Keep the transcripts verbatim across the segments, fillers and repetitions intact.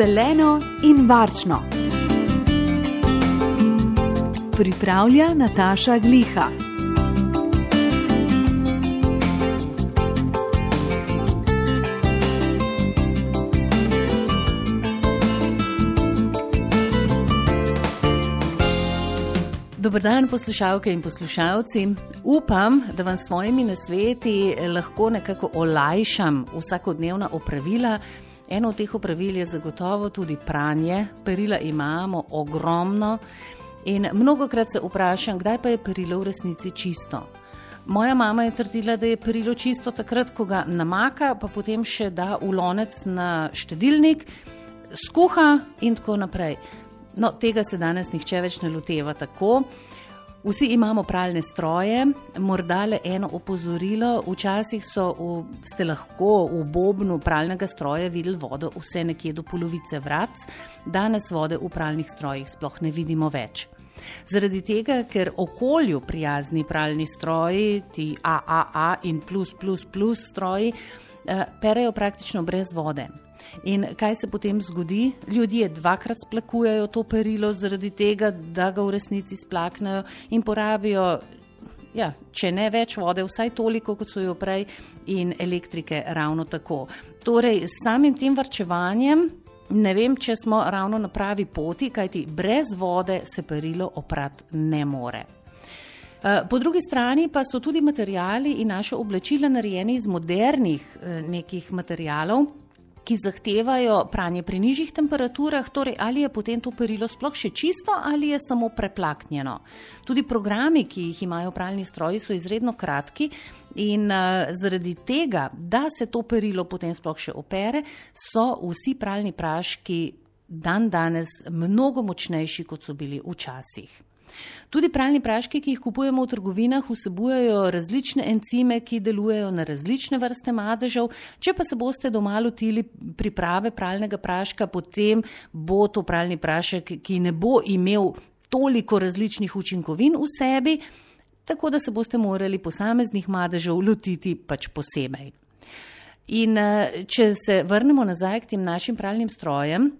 Zeleno in varčno. Pripravlja Nataša Gliha. Dober dan, poslušalke in poslušalci. Upam, da vam s svojimi nasveti lahko nekako olajšam vsakodnevna opravila. Eno od teh opravil je zagotovo tudi pranje. Perila imamo ogromno in mnogokrat se vprašam, kdaj pa je perilo v resnici čisto. Moja mama je trdila, da je perilo čisto takrat, ko ga namaka, pa potem še da v lonec na štedilnik, skuha in tako naprej. No, tega se danes nihče več ne loteva tako. Vsi imamo pralne stroje, morda le eno opozorilo. Včasih so v, ste lahko v bobnu pralnega stroja videli vodo vse nekje do polovice vrat. Danes vode v pralnih strojih sploh ne vidimo več. Zaradi tega, ker okolju prijazni pralni stroji, ti A A A in plus plus plus stroji, perejo praktično brez vode. In kaj se potem zgodi? Ljudje dvakrat splakujejo to perilo zaradi tega, da ga v resnici splaknejo in porabijo, ja, če ne več vode, vsaj toliko, kot so jo prej, in elektrike ravno tako. Torej, s samim tem varčevanjem ne vem, če smo ravno na pravi poti, kajti brez vode se perilo oprati ne more. Po drugi strani pa so tudi materiali in naše oblačila narejeni iz modernih nekih materialov, ki zahtevajo pranje pri nižjih temperaturah, torej ali je potem to perilo sploh še čisto ali je samo preplaknjeno. Tudi programi, ki jih imajo pralni stroji, so izredno kratki in uh, zaradi tega, da se to perilo potem sploh še opere, so vsi pralni praški dan danes mnogo močnejši, kot so bili včasih. Tudi pralni praški, ki jih kupujemo v trgovinah, vsebujejo različne encime, ki delujejo na različne vrste madežev. Če pa se boste doma lotili priprave pralnega praška, potem bo to pralni prašek, ki ne bo imel toliko različnih učinkovin v sebi, tako da se boste morali posameznih madežev lotiti pač posebej. In če se vrnemo nazaj k tem našim pralnim strojem,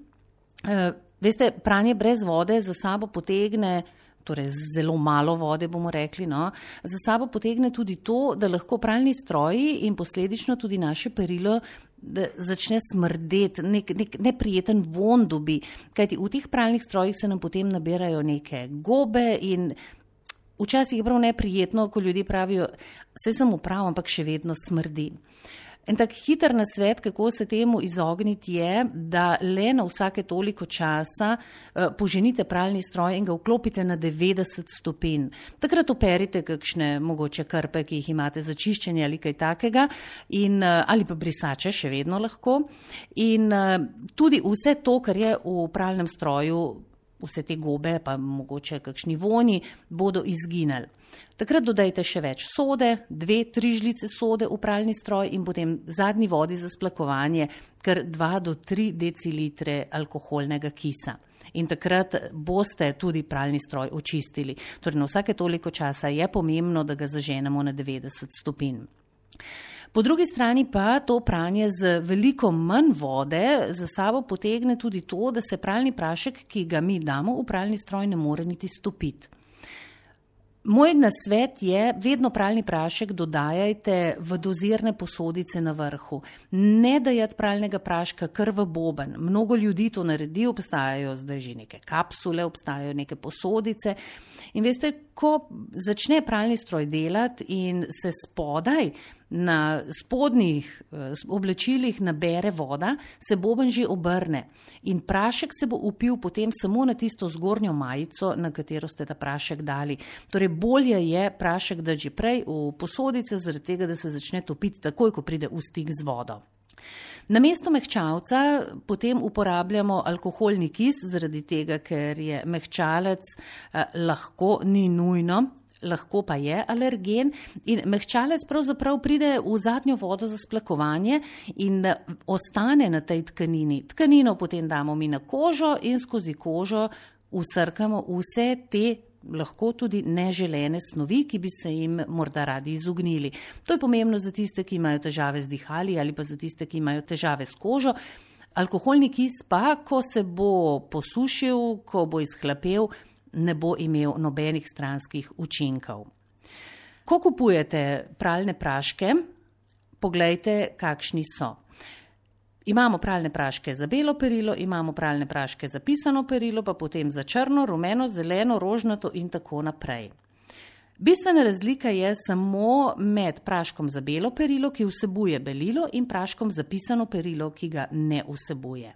veste, pranje brez vode za sabo potegne, torej zelo malo vode bomo rekli, no, za sabo potegne tudi to, da lahko pralni stroji in posledično tudi naše perilo začne smrdeti, nek, nek neprijeten von dobi, kajti v teh pralnih strojih se nam potem nabirajo neke gobe in včasih je prav neprijetno, ko ljudje pravijo, saj sem prav, ampak še vedno smrdi. En tak hiter nasvet, kako se temu izogniti, je, da le na vsake toliko časa poženite pralni stroj in ga vklopite na devetdeset stopinj. Takrat operite kakšne mogoče krpe, ki jih imate za čiščenje ali kaj takega, in, ali pa brisače še vedno lahko. In tudi vse to, kar je v pralnem stroju, vse te gobe, pa mogoče kakšni vonji, bodo izginili. Takrat dodajte še več sode, dve, tri žlice sode v pralni stroj in potem zadnji vodi za splakovanje, kar dva do tri decilitre alkoholnega kisa. In takrat boste tudi pralni stroj očistili. Torej na vsake toliko časa je pomembno, da ga zaženemo na devetdeset stopinj. Po drugi strani pa to pranje z veliko manj vode za sabo potegne tudi to, da se pralni prašek, ki ga mi damo v pralni stroj, ne more niti stopiti. Moj nasvet je, vedno pralni prašek dodajajte v dozirne posodice na vrhu. Ne dajati pralnega praška kar v boben. Mnogo ljudi to naredi, obstajajo zdaj že neke kapsule, obstajajo neke posodice. In veste, ko začne pralni stroj delati in se spodaj na spodnjih oblačilih nabere voda, se boben že obrne in prašek se bo upil potem samo na tisto zgornjo majico, na katero ste ta prašek dali. Torej bolje je prašek dati že prej v posodice, zaradi tega, da se začne topiti takoj, ko pride v stik z vodo. Namesto mehčalca potem uporabljamo alkoholni kis, zaradi tega, ker je mehčalec eh, lahko, ni nujno, lahko pa je alergen in mehčalec pravzaprav pride v zadnjo vodo za splakovanje in ostane na tej tkanini. Tkanino potem damo mi na kožo in skozi kožo usrkamo vse te lahko tudi neželene snovi, ki bi se jim morda radi izognili. To je pomembno za tiste, ki imajo težave z dihali ali pa za tiste, ki imajo težave s kožo. Alkoholni kis pa, ko se bo posušil, ko bo izhlapel, ne bo imel nobenih stranskih učinkov. Ko kupujete pralne praške, poglejte, kakšni so. Imamo pralne praške za belo perilo, imamo pralne praške za pisano perilo, pa potem za črno, rumeno, zeleno, rožnato in tako naprej. Bistvena razlika je samo med praškom za belo perilo, ki vsebuje belilo, in praškom za pisano perilo, ki ga ne vsebuje.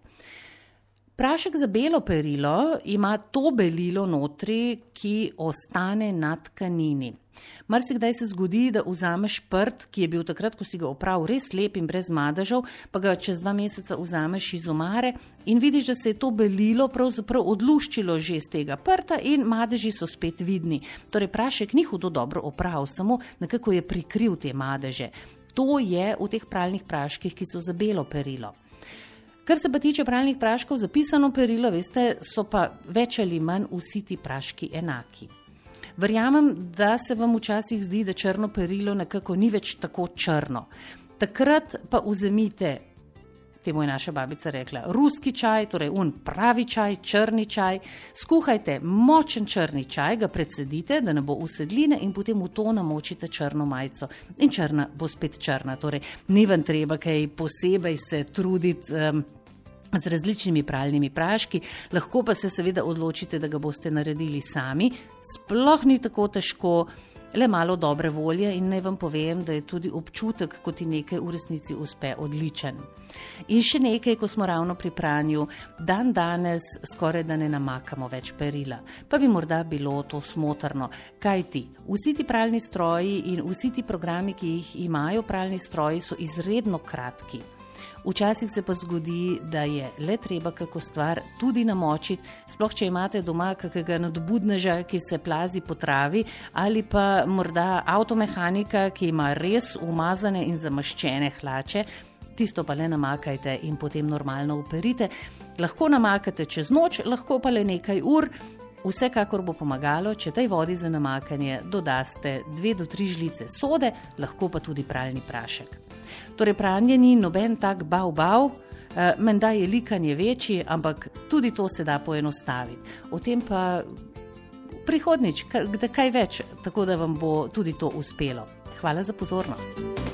Prašek za belo perilo ima to belilo notri, ki ostane na tkanini. Marsikdaj se zgodi, da vzameš prt, ki je bil takrat, ko si ga opravil, res lep in brez madežev, pa ga čez dva meseca vzameš iz omare in vidiš, da se je to belilo pravzaprav odluščilo že iz tega prta in madeži so spet vidni. Torej, prašek ni hudo dobro opravil, samo nekako je prikril te madeže. To je v teh pralnih praških, ki so za belo perilo. Kar se pa tiče pralnih praškov za pisano perilo, veste, so pa več ali manj vsi ti praški enaki. Verjamem, da se vam včasih zdi, da črno perilo nekako ni več tako črno. Takrat pa vzemite, temu je naša babica rekla, ruski čaj, torej un pravi čaj, črni čaj, skuhajte močen črni čaj, ga precedite, da ne bo usedline in potem v to namočite črno majico. In črna bo spet črna, torej ni vam treba kaj posebej se truditi um, z različnimi pralnimi praški, lahko pa se seveda odločite, da ga boste naredili sami. Sploh ni tako težko, le malo dobre volje in naj vam povem, da je tudi občutek, ko ti nekaj v resnici uspe, odličen. In še nekaj, ko smo ravno pri pranju, dan danes skoraj da ne namakamo več perila. Pa bi morda bilo to smotrno, kajti vsi ti pralni stroji in vsi ti programi, ki jih imajo pralni stroji, so izredno kratki. Včasih se pa zgodi, da je le treba kako stvar tudi namočiti, sploh če imate doma kakega nadobudneža, ki se plazi po travi, ali pa morda avtomehanika, ki ima res umazane in zamaščene hlače, tisto pa le namakajte in potem normalno operite. Lahko namakate čez noč, lahko pa le nekaj ur. Vsekakor bo pomagalo, če tej vodi za namakanje dodaste dve do tri žlice sode, lahko pa tudi pralni prašek. Torej, pranje ni noben tak bav bav, menda je likanje večji, ampak tudi to se da poenostaviti. O tem pa prihodnjič, kaj več, tako da vam bo tudi to uspelo. Hvala za pozornost.